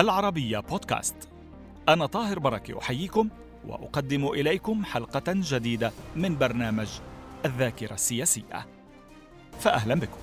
العربية بودكاست. أنا طاهر بركة أحييكم وأقدم إليكم حلقة جديدة من برنامج الذاكرة السياسية، فأهلا بكم.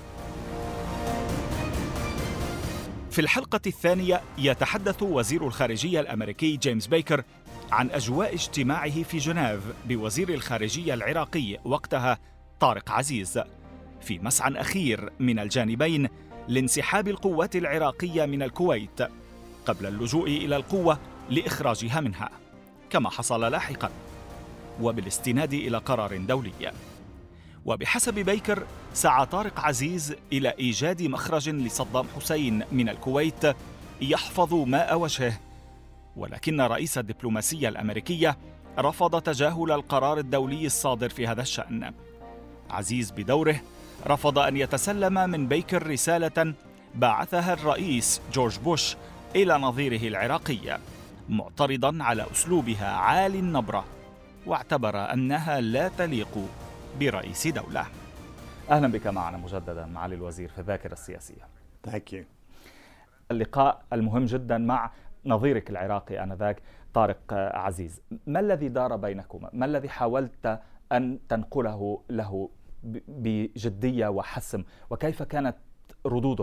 في الحلقة الثانية يتحدث وزير الخارجية الأمريكي جيمس بيكر عن أجواء اجتماعه في جنيف بوزير الخارجية العراقي وقتها طارق عزيز، في مسعى أخير من الجانبين لانسحاب القوات العراقية من الكويت قبل اللجوء إلى القوة لإخراجها منها، كما حصل لاحقاً وبالاستناد إلى قرار دولي. وبحسب بيكر سعى طارق عزيز إلى إيجاد مخرج لصدام حسين من الكويت يحفظ ماء وجهه، ولكن رئيس الدبلوماسية الأمريكية رفض تجاهل القرار الدولي الصادر في هذا الشأن. عزيز بدوره رفض أن يتسلم من بيكر رسالة بعثها الرئيس جورج بوش إلى نظيره العراقي، معترضاً على أسلوبها عالي النبرة، واعتبر أنها لا تليق برئيس دولة. أهلا بك معنا مجددا معالي الوزير في الذاكرة السياسية. Thank you. اللقاء المهم جدا مع نظيرك العراقي آنذاك طارق عزيز، ما الذي دار بينكما؟ ما الذي حاولت أن تنقله له بجدية وحسم، وكيف كانت ردوده؟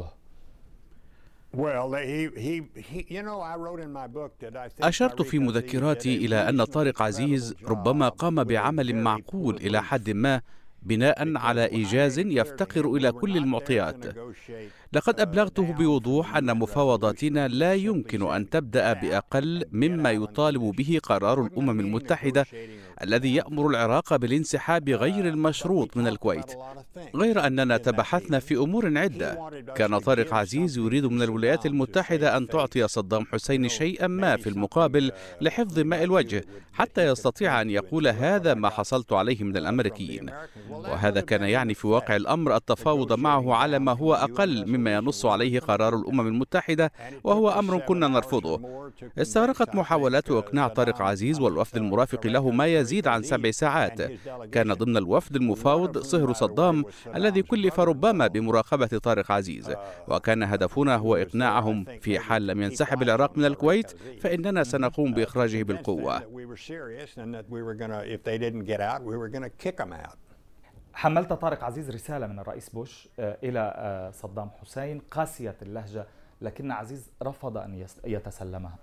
أشرت في مذكراتي إلى أن طارق عزيز ربما قام بعمل معقول إلى حد ما بناء على إيجاز يفتقر إلى كل المعطيات. لقد أبلغته بوضوح أن مفاوضاتنا لا يمكن أن تبدأ بأقل مما يطالب به قرار الأمم المتحدة الذي يأمر العراق بالانسحاب غير المشروط من الكويت، غير أننا تبحثنا في أمور عدة. كان طارق عزيز يريد من الولايات المتحدة أن تعطي صدام حسين شيئا ما في المقابل لحفظ ماء الوجه، حتى يستطيع أن يقول هذا ما حصلت عليه من الأمريكيين، وهذا كان يعني في واقع الأمر التفاوض معه على ما هو أقل مما ينص عليه قرار الأمم المتحدة، وهو أمر كنا نرفضه. استغرقت محاولات إقناع طارق عزيز والوفد المرافق له ما يزيد عن 7 ساعات. كان ضمن الوفد المفاوض صهر صدام الذي كلف ربما بمراقبة طارق عزيز، وكان هدفنا هو إقناعهم في حال لم ينسحب العراق من الكويت فإننا سنقوم بإخراجه بالقوة. حملت طارق عزيز رسالة من الرئيس بوش إلى صدام حسين قاسية اللهجة، لكن عزيز رفض أن يتسلمها.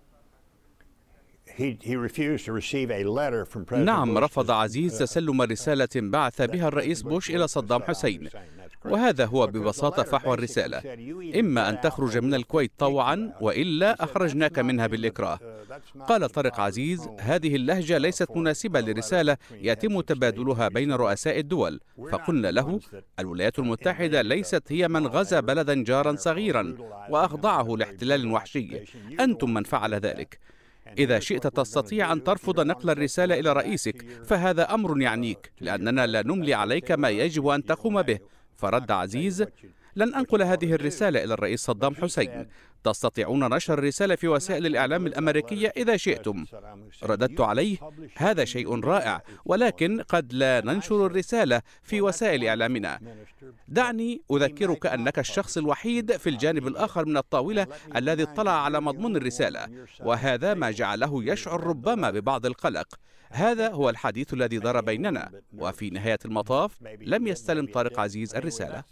نعم، رفض عزيز تسلم رسالة بعث بها الرئيس بوش إلى صدام حسين، وهذا هو ببساطة فحوى الرسالة: إما أن تخرج من الكويت طوعا وإلا أخرجناك منها بالإكراه. قال طارق عزيز: هذه اللهجة ليست مناسبة لرسالة يتم تبادلها بين رؤساء الدول. فقلنا له: الولايات المتحدة ليست هي من غزا بلدا جارا صغيرا وأخضعه لاحتلال وحشي، أنتم من فعل ذلك. إذا شئت تستطيع أن ترفض نقل الرسالة إلى رئيسك، فهذا أمر يعنيك، لأننا لا نملي عليك ما يجب أن تقوم به. فرد عزيز: لن أنقل هذه الرسالة إلى الرئيس صدام حسين، تستطيعون نشر الرسالة في وسائل الإعلام الأمريكية إذا شئتم. رددت عليه: هذا شيء رائع، ولكن قد لا ننشر الرسالة في وسائل إعلامنا. دعني أذكرك أنك الشخص الوحيد في الجانب الآخر من الطاولة الذي اطلع على مضمون الرسالة، وهذا ما جعله يشعر ربما ببعض القلق. هذا هو الحديث الذي دار بيننا، وفي نهاية المطاف لم يستلم طارق عزيز الرسالة.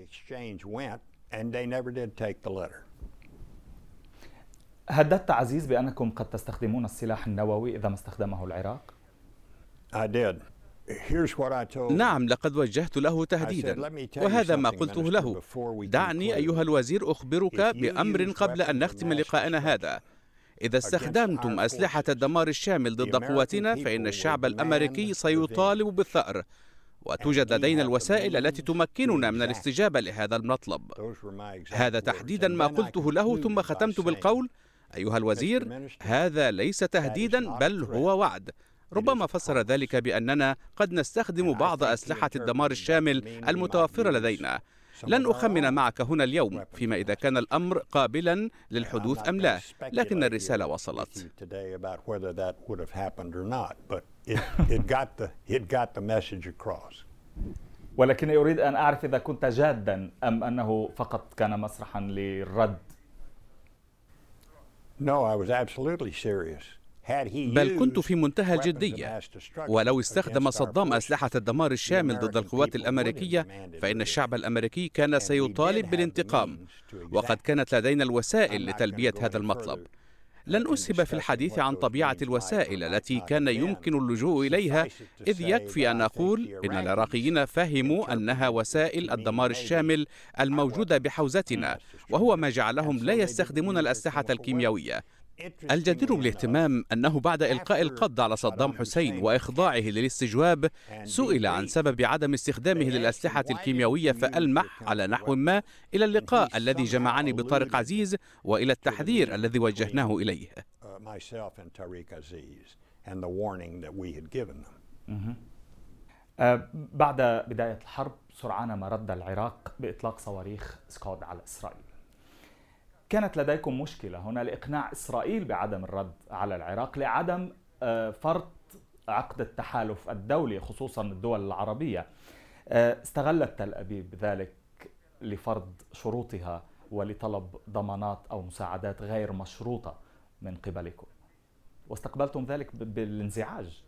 هددت عزيز بأنكم قد تستخدمون السلاح النووي إذا ما استخدمه العراق؟ نعم، لقد وجهت له تهديدا، وهذا ما قلته له. دعني أيها الوزير أخبرك بأمر قبل أن نختم لقاءنا هذا. إذا استخدمتم أسلحة الدمار الشامل ضد قواتنا فإن الشعب الأمريكي سيطالب بالثأر، وتوجد لدينا الوسائل التي تمكننا من الاستجابة لهذا المطلب. هذا تحديدا ما قلته له، ثم ختمت بالقول: أيها الوزير، هذا ليس تهديدا بل هو وعد. ربما فسر ذلك بأننا قد نستخدم بعض أسلحة الدمار الشامل المتوفرة لدينا. لن أخمن معك هنا اليوم فيما إذا كان الأمر قابلا للحدوث أم لا، لكن الرسالة وصلت. ولكن أريد أن أعرف إذا كنت جادا أم أنه فقط كان مسرحا للرد. بل كنت في منتهى الجدية، ولو استخدم صدام أسلحة الدمار الشامل ضد القوات الأمريكية فإن الشعب الأمريكي كان سيطالب بالانتقام، وقد كانت لدينا الوسائل لتلبية هذا المطلب. لن أسهب في الحديث عن طبيعة الوسائل التي كان يمكن اللجوء إليها، إذ يكفي أن أقول إن العراقيين فهموا أنها وسائل الدمار الشامل الموجودة بحوزتنا، وهو ما جعلهم لا يستخدمون الأسلحة الكيميائية. الجدير بالاهتمام أنه بعد إلقاء القبض على صدام حسين وإخضاعه للاستجواب سئل عن سبب عدم استخدامه للأسلحة الكيميائية، فألمح على نحو ما إلى اللقاء الذي جمعني بطارق عزيز وإلى التحذير الذي وجهناه إليه. بعد بداية الحرب سرعان ما رد العراق بإطلاق صواريخ سكود على إسرائيل. كانت لديكم مشكلة هنا لإقناع إسرائيل بعدم الرد على العراق لعدم فرض عقد التحالف الدولي، خصوصا الدول العربية. استغلت تل أبيب ذلك لفرض شروطها ولطلب ضمانات أو مساعدات غير مشروطة من قبلكم، واستقبلتم ذلك بالانزعاج.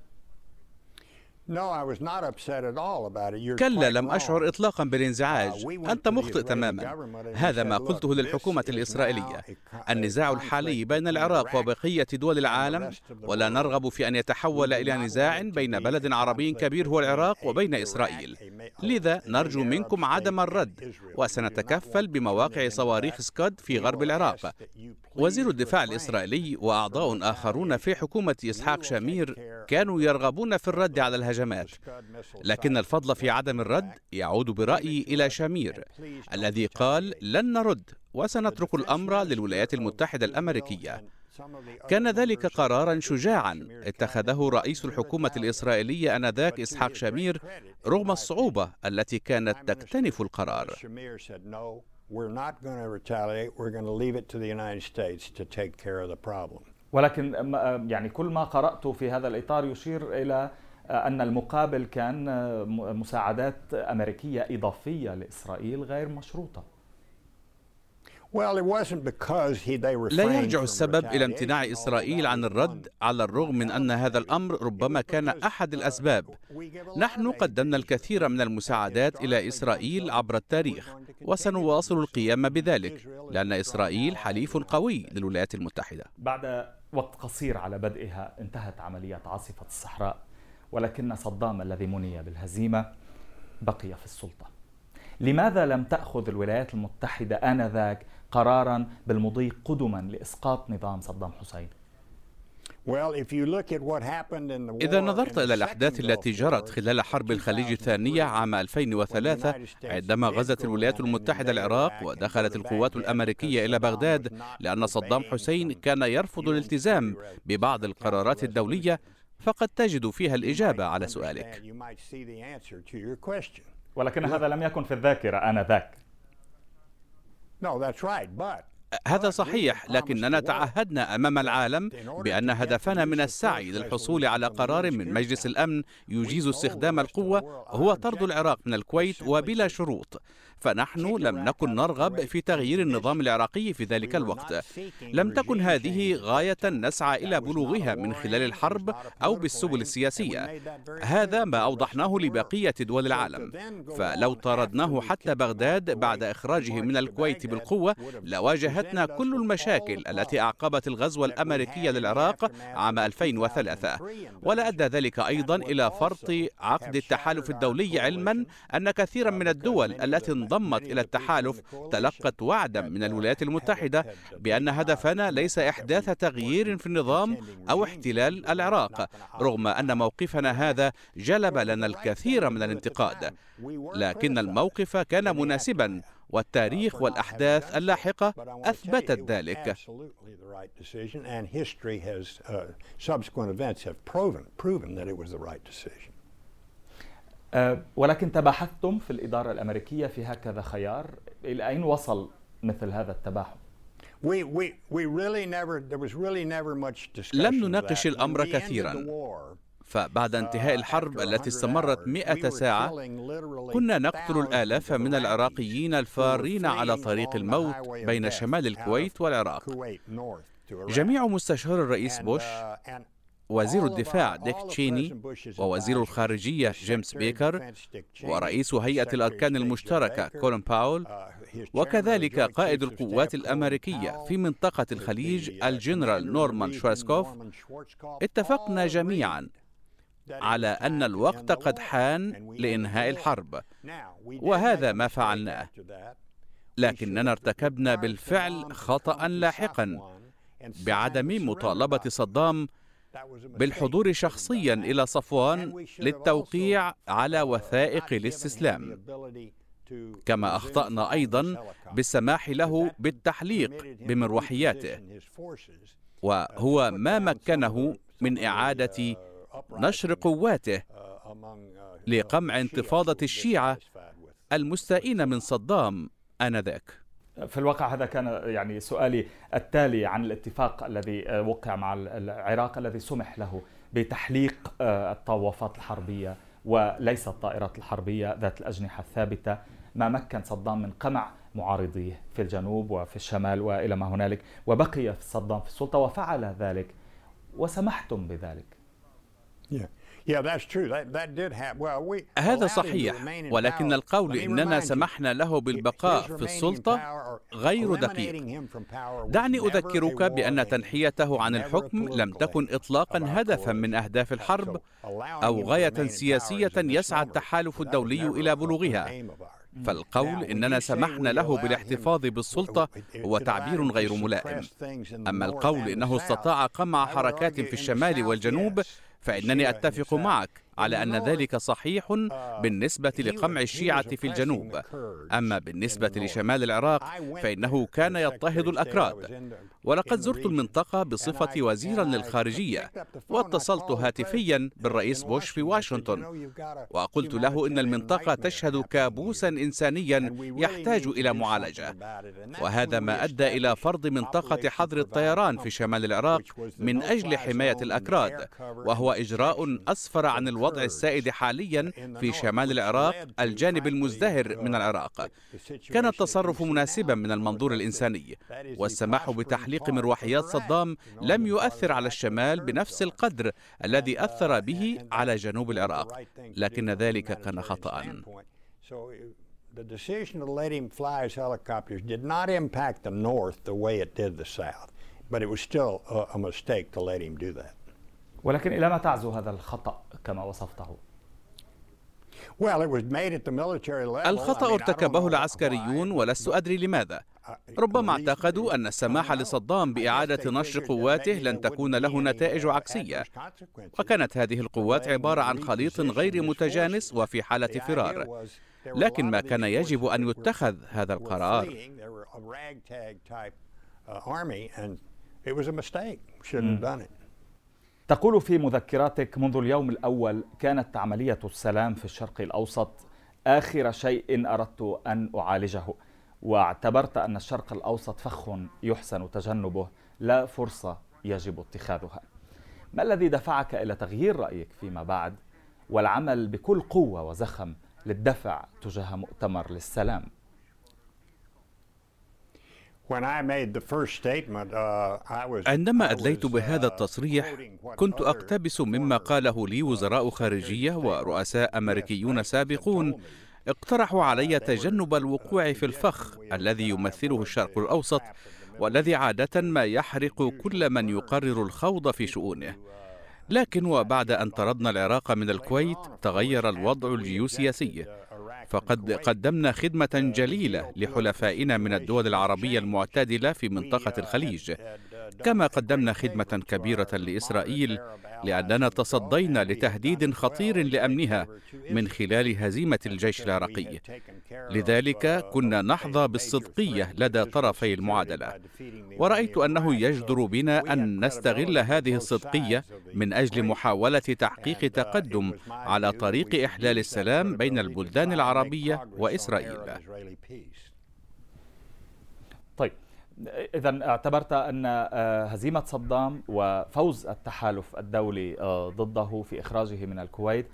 كلا، لم أشعر إطلاقا بالانزعاج. أنت مخطئ تماما. هذا ما قلته للحكومة الإسرائيلية. النزاع الحالي بين العراق وبقية دول العالم، ولا نرغب في أن يتحول إلى نزاع بين بلد عربي كبير هو العراق وبين إسرائيل. لذا نرجو منكم عدم الرد، وسنتكفل بمواقع صواريخ سكود في غرب العراق. وزير الدفاع الإسرائيلي وأعضاء آخرون في حكومة إسحاق شامير كانوا يرغبون في الرد على الهجمات، لكن الفضل في عدم الرد يعود برأيي إلى شامير الذي قال لن نرد وسنترك الأمر للولايات المتحدة الأمريكية. كان ذلك قراراً شجاعاً اتخذه رئيس الحكومة الإسرائيلية آنذاك إسحاق شامير رغم الصعوبة التي كانت تكتنف القرار. ولكن يعني كل ما قرأته في هذا الإطار يشير إلى أن المقابل كان مساعدات أمريكية إضافية لإسرائيل غير مشروطة. لا يرجع السبب إلى امتناع إسرائيل عن الرد، على الرغم من أن هذا الأمر ربما كان أحد الأسباب. نحن قدمنا الكثير من المساعدات إلى إسرائيل عبر التاريخ، وسنواصل القيام بذلك، لأن إسرائيل حليف قوي للولايات المتحدة. بعد وقت قصير على بدئها انتهت عملية عاصفة الصحراء، ولكن صدام الذي مني بالهزيمة بقي في السلطة. لماذا لم تأخذ الولايات المتحدة آنذاك قراراً بالمضي قدماً لإسقاط نظام صدام حسين؟ إذا نظرت إلى الأحداث التي جرت خلال حرب الخليج الثانية عام 2003 عندما غزت الولايات المتحدة العراق ودخلت القوات الأمريكية إلى بغداد لأن صدام حسين كان يرفض الالتزام ببعض القرارات الدولية، فقد تجد فيها الإجابة على سؤالك. ولكن هذا لم يكن في الذاكرة آنذاك. هذا صحيح، لكننا تعهدنا أمام العالم بأن هدفنا من السعي للحصول على قرار من مجلس الأمن يجيز استخدام القوة هو طرد العراق من الكويت وبلا شروط، فنحن لم نكن نرغب في تغيير النظام العراقي في ذلك الوقت. لم تكن هذه غاية نسعى إلى بلوغها من خلال الحرب أو بالسبل السياسية. هذا ما أوضحناه لبقية دول العالم، فلو طردناه حتى بغداد بعد إخراجه من الكويت بالقوة لواجهتنا كل المشاكل التي أعقبت الغزو الأمريكي للعراق عام 2003، ولا أدى ذلك أيضا إلى فرط عقد التحالف الدولي، علما أن كثيرا من الدول التي انضمت إلى التحالف تلقت وعدا من الولايات المتحدة بأن هدفنا ليس إحداث تغيير في النظام أو احتلال العراق، رغم أن موقفنا هذا جلب لنا الكثير من الانتقاد، لكن الموقف كان مناسبا، والتاريخ والأحداث اللاحقة أثبتت ذلك. ولكن تباحثتم في الإدارة الأمريكية في هكذا خيار، إلى أين وصل مثل هذا التباحث؟ لم نناقش الأمر كثيرا، فبعد انتهاء الحرب التي استمرت 100 ساعة كنا نقتل الآلاف من العراقيين الفارين على طريق الموت بين شمال الكويت والعراق. جميع مستشار الرئيس بوش، وزير الدفاع ديك تشيني، ووزير الخارجية جيمس بيكر، ورئيس هيئة الأركان المشتركة كولين باول، وكذلك قائد القوات الأمريكية في منطقة الخليج الجنرال نورمان شوارزكوف، اتفقنا جميعا على أن الوقت قد حان لإنهاء الحرب، وهذا ما فعلناه. لكننا ارتكبنا بالفعل خطأ لاحقا بعدم مطالبة صدام بالحضور شخصيا إلى صفوان للتوقيع على وثائق الاستسلام، كما أخطأنا أيضا بالسماح له بالتحليق بمروحياته، وهو ما مكنه من إعادة نشر قواته لقمع انتفاضة الشيعة المستائين من صدام آنذاك. في الواقع هذا كان يعني سؤالي التالي عن الاتفاق الذي وقع مع العراق الذي سمح له بتحليق الطوافات الحربية وليس الطائرات الحربية ذات الأجنحة الثابتة، ما مكن صدام من قمع معارضيه في الجنوب وفي الشمال وإلى ما هنالك، وبقي صدام في السلطة وفعل ذلك وسمحتم بذلك. هذا صحيح، ولكن القول إننا سمحنا له بالبقاء في السلطة غير دقيق. دعني أذكرك بأن تنحيته عن الحكم لم تكن إطلاقا هدفا من أهداف الحرب أو غاية سياسية يسعى التحالف الدولي إلى بلوغها، فالقول إننا سمحنا له بالاحتفاظ بالسلطة هو تعبير غير ملائم. أما القول إنه استطاع قمع حركات في الشمال والجنوب فإنني أتفق معك على أن ذلك صحيح بالنسبة لقمع الشيعة في الجنوب، أما بالنسبة لشمال العراق فإنه كان يضطهد الأكراد. ولقد زرت المنطقة بصفتي وزيرا للخارجية، واتصلت هاتفيا بالرئيس بوش في واشنطن، وقلت له إن المنطقة تشهد كابوسا إنسانيا يحتاج إلى معالجة، وهذا ما أدى إلى فرض منطقة حظر الطيران في شمال العراق من أجل حماية الأكراد، وهو إجراء أسفر عن الوضع السائد حاليا في شمال العراق الجانب المزدهر من العراق. كان التصرف مناسبا من المنظور الإنساني، والسماح بتحليق مروحيات صدام لم يؤثر على الشمال بنفس القدر الذي أثر به على جنوب العراق، لكن ذلك كان خطأ. The decision to let him fly his helicopters did not impact the north the way it did the south, but it was still a mistake to let him do that. ولكن إلى ما تعزو هذا الخطأ كما وصفته؟ الخطأ ارتكبه العسكريون ولست أدري لماذا. ربما اعتقدوا أن السماح لصدام بإعادة نشر قواته لن تكون له نتائج عكسية، وكانت هذه القوات عبارة عن خليط غير متجانس وفي حالة فرار، لكن ما كان يجب أن يتخذ هذا القرار. تقول في مذكراتك: منذ اليوم الأول كانت عملية السلام في الشرق الأوسط آخر شيء أردت أن أعالجه، واعتبرت أن الشرق الأوسط فخ يحسن تجنبه لا فرصة يجب اتخاذها. ما الذي دفعك إلى تغيير رأيك فيما بعد والعمل بكل قوة وزخم للدفع تجاه مؤتمر للسلام؟ عندما أدليت بهذا التصريح كنت أقتبس مما قاله لي وزراء خارجية ورؤساء أمريكيون سابقون اقترحوا علي تجنب الوقوع في الفخ الذي يمثله الشرق الأوسط، والذي عادة ما يحرق كل من يقرر الخوض في شؤونه. لكن وبعد أن طردنا العراق من الكويت تغير الوضع الجيوسياسي، فقد قدمنا خدمة جليلة لحلفائنا من الدول العربية المعتدلة في منطقة الخليج، كما قدمنا خدمة كبيرة لإسرائيل لأننا تصدينا لتهديد خطير لأمنها من خلال هزيمة الجيش العراقي. لذلك كنا نحظى بالصدقية لدى طرفي المعادلة، ورأيت أنه يجدر بنا أن نستغل هذه الصدقية من أجل محاولة تحقيق تقدم على طريق إحلال السلام بين البلدان العربية وإسرائيل. طيب، إذن اعتبرت أن هزيمة صدام وفوز التحالف الدولي ضده في إخراجه من الكويت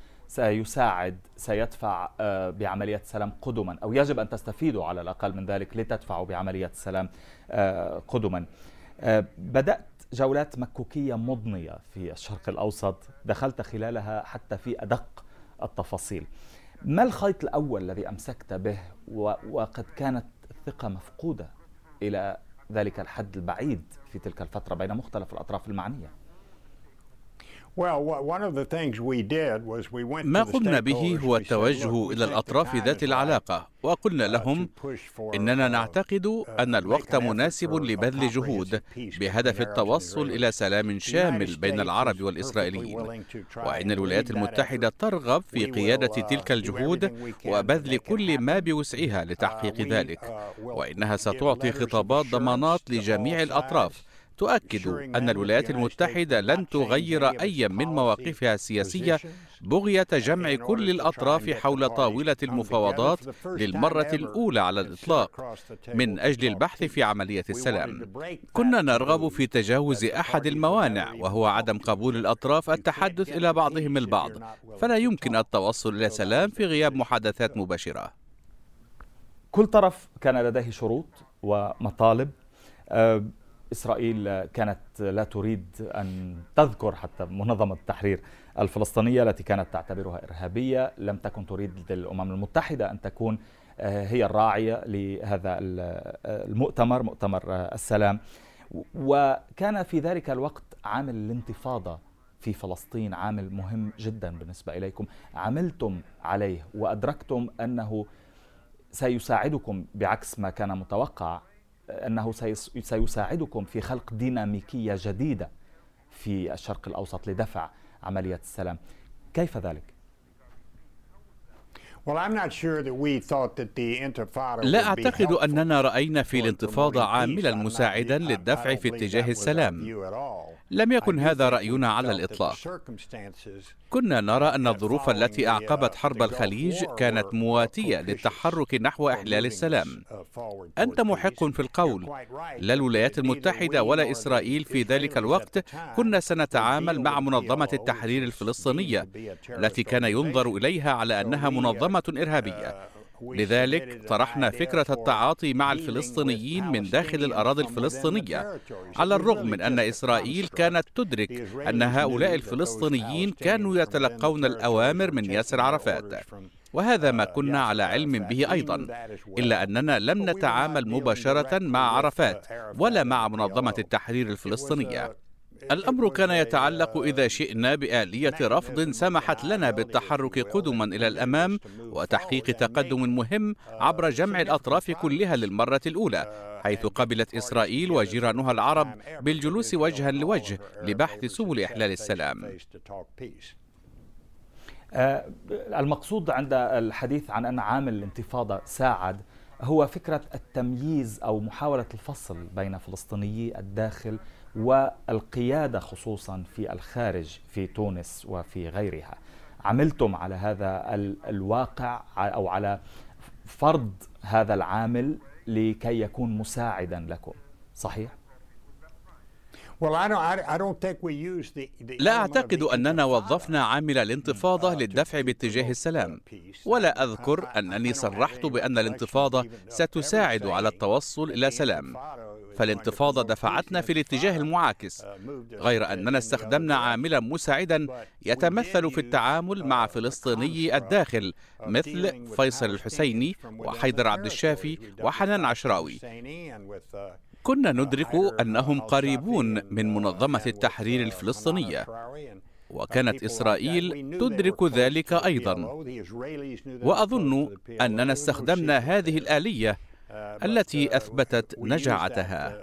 سيدفع بعملية السلام قدما، أو يجب أن تستفيدوا على الأقل من ذلك لتدفعوا بعملية السلام قدما. بدأت جولات مكوكية مضنية في الشرق الأوسط، دخلت خلالها حتى في أدق التفاصيل. ما الخيط الأول الذي أمسكت به وقد كانت الثقة مفقودة إلى ذلك الحد البعيد في تلك الفترة بين مختلف الأطراف المعنية؟ ما قمنا به هو التوجه إلى الأطراف ذات العلاقة، وقلنا لهم إننا نعتقد أن الوقت مناسب لبذل جهود بهدف التوصل إلى سلام شامل بين العرب والإسرائيليين، وإن الولايات المتحدة ترغب في قيادة تلك الجهود وبذل كل ما بوسعها لتحقيق ذلك، وإنها ستعطي خطابات ضمانات لجميع الأطراف تؤكد أن الولايات المتحدة لن تغير أي من مواقفها السياسية بغية جمع كل الأطراف حول طاولة المفاوضات للمرة الأولى على الإطلاق من أجل البحث في عملية السلام. كنا نرغب في تجاوز أحد الموانع، وهو عدم قبول الأطراف التحدث إلى بعضهم البعض، فلا يمكن التوصل إلى سلام في غياب محادثات مباشرة. كل طرف كان لديه شروط ومطالب. إسرائيل كانت لا تريد أن تذكر حتى منظمة التحرير الفلسطينية التي كانت تعتبرها إرهابية، لم تكن تريد الأمم المتحدة أن تكون هي الراعية لهذا المؤتمر، مؤتمر السلام. وكان في ذلك الوقت عامل الانتفاضة في فلسطين عامل مهم جدا بالنسبة إليكم، عملتم عليه وأدركتم أنه سيساعدكم بعكس ما كان متوقع، أنه سيساعدكم في خلق ديناميكية جديدة في الشرق الأوسط لدفع عملية السلام. كيف ذلك؟ لا أعتقد أننا رأينا في الانتفاضة عاملا مساعدا للدفع في اتجاه السلام. لم يكن هذا رأينا على الإطلاق. كنا نرى أن الظروف التي أعقبت حرب الخليج كانت مواتية للتحرك نحو إحلال السلام. أنت محق في القول، لا الولايات المتحدة ولا إسرائيل في ذلك الوقت كنا سنتعامل مع منظمة التحرير الفلسطينية التي كان ينظر إليها على أنها منظمة إرهابية. لذلك طرحنا فكرة التعاطي مع الفلسطينيين من داخل الأراضي الفلسطينية، على الرغم من أن إسرائيل كانت تدرك أن هؤلاء الفلسطينيين كانوا يتلقون الأوامر من ياسر عرفات، وهذا ما كنا على علم به أيضا، إلا أننا لم نتعامل مباشرة مع عرفات ولا مع منظمة التحرير الفلسطينية. الأمر كان يتعلق إذا شئنا بآلية رفض سمحت لنا بالتحرك قدما إلى الأمام وتحقيق تقدم مهم عبر جمع الأطراف كلها للمرة الأولى، حيث قبلت إسرائيل وجيرانها العرب بالجلوس وجها لوجه لبحث سبل إحلال السلام. المقصود عند الحديث عن أن عامل الانتفاضة ساعد هو فكرة التمييز أو محاولة الفصل بين فلسطينيي الداخل والقيادة خصوصا في الخارج في تونس وفي غيرها. عملتم على هذا الواقع أو على فرض هذا العامل لكي يكون مساعدا لكم، صحيح؟ لا أعتقد أننا وظفنا عامل الانتفاضة للدفع باتجاه السلام، ولا أذكر أنني صرحت بأن الانتفاضة ستساعد على التوصل إلى سلام، فالانتفاضة دفعتنا في الاتجاه المعاكس، غير أننا استخدمنا عاملا مساعدا يتمثل في التعامل مع فلسطيني الداخل مثل فيصل الحسيني وحيدر عبد الشافي وحنان عشراوي. كنا ندرك أنهم قريبون من منظمة التحرير الفلسطينية، وكانت إسرائيل تدرك ذلك أيضا، وأظن أننا استخدمنا هذه الآلية التي أثبتت نجاعتها.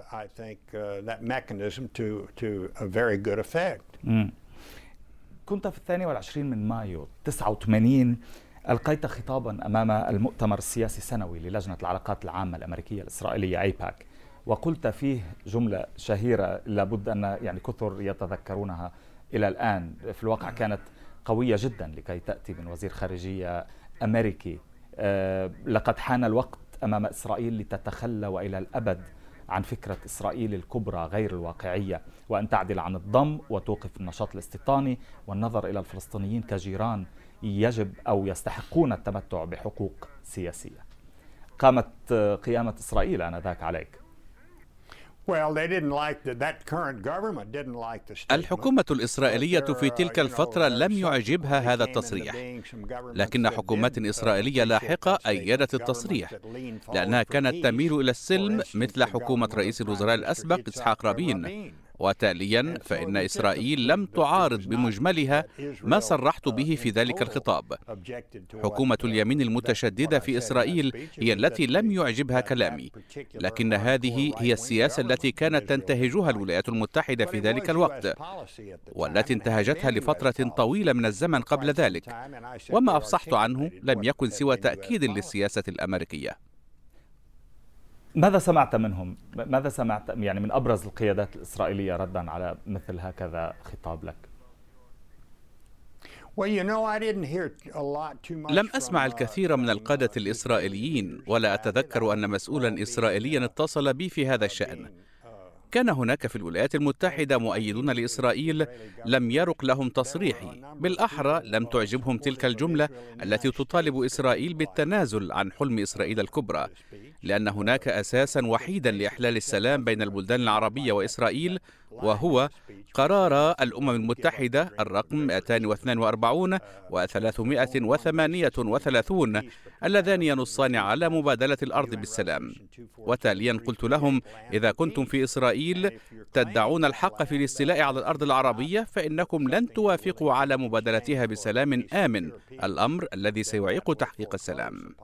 كنت في 22 من مايو 89 ألقيت خطابا أمام المؤتمر السياسي السنوي للجنة العلاقات العامة الأمريكية الإسرائيلية أيباك، وقلت فيه جملة شهيرة لابد أن كثر يتذكرونها إلى الآن، في الواقع كانت قوية جدا لكي تأتي من وزير خارجية أمريكي. لقد حان الوقت أمام إسرائيل لتتخلى وإلى الأبد عن فكرة إسرائيل الكبرى غير الواقعية، وأن تعدل عن الضم وتوقف النشاط الاستيطاني والنظر إلى الفلسطينيين كجيران يجب أو يستحقون التمتع بحقوق سياسية. قامت قيامة إسرائيل آنذاك عليك. الحكومة الإسرائيلية في تلك الفترة لم يعجبها هذا التصريح، لكن حكومات إسرائيلية لاحقة أيدت التصريح لأنها كانت تميل إلى السلم مثل حكومة رئيس الوزراء الأسبق إسحاق رابين، وتاليا فإن إسرائيل لم تعارض بمجملها ما صرحت به في ذلك الخطاب. حكومة اليمين المتشددة في إسرائيل هي التي لم يعجبها كلامي، لكن هذه هي السياسة التي كانت تنتهجها الولايات المتحدة في ذلك الوقت، والتي انتهجتها لفترة طويلة من الزمن قبل ذلك، وما أفصحت عنه لم يكن سوى تأكيد للسياسة الأمريكية. ماذا سمعت منهم؟ ماذا سمعت يعني من أبرز القيادات الإسرائيلية ردا على مثل هكذا خطاب لك؟ لم أسمع الكثير من القادة الإسرائيليين، ولا أتذكر أن مسؤولا إسرائيليا اتصل بي في هذا الشأن. كان هناك في الولايات المتحدة مؤيدون لإسرائيل لم يرق لهم تصريحي، بالأحرى لم تعجبهم تلك الجملة التي تطالب إسرائيل بالتنازل عن حلم إسرائيل الكبرى، لأن هناك أساسا وحيدا لإحلال السلام بين البلدان العربية وإسرائيل، وهو قرار الأمم المتحدة الرقم 242 و338 اللذان ينصان على مبادلة الأرض بالسلام. وتاليا قلت لهم: إذا كنتم في إسرائيل تدعون الحق في الاستيلاء على الأرض العربية، فإنكم لن توافقوا على مبادلتها بسلام آمن، الأمر الذي سيعيق تحقيق السلام.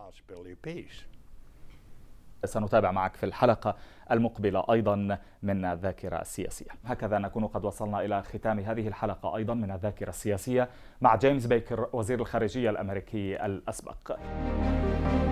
سنتابع معك في الحلقة المقبلة أيضا من الذاكرة السياسية. هكذا نكون قد وصلنا إلى ختام هذه الحلقة أيضا من الذاكرة السياسية مع جيمس بيكر وزير الخارجية الأمريكي الأسبق.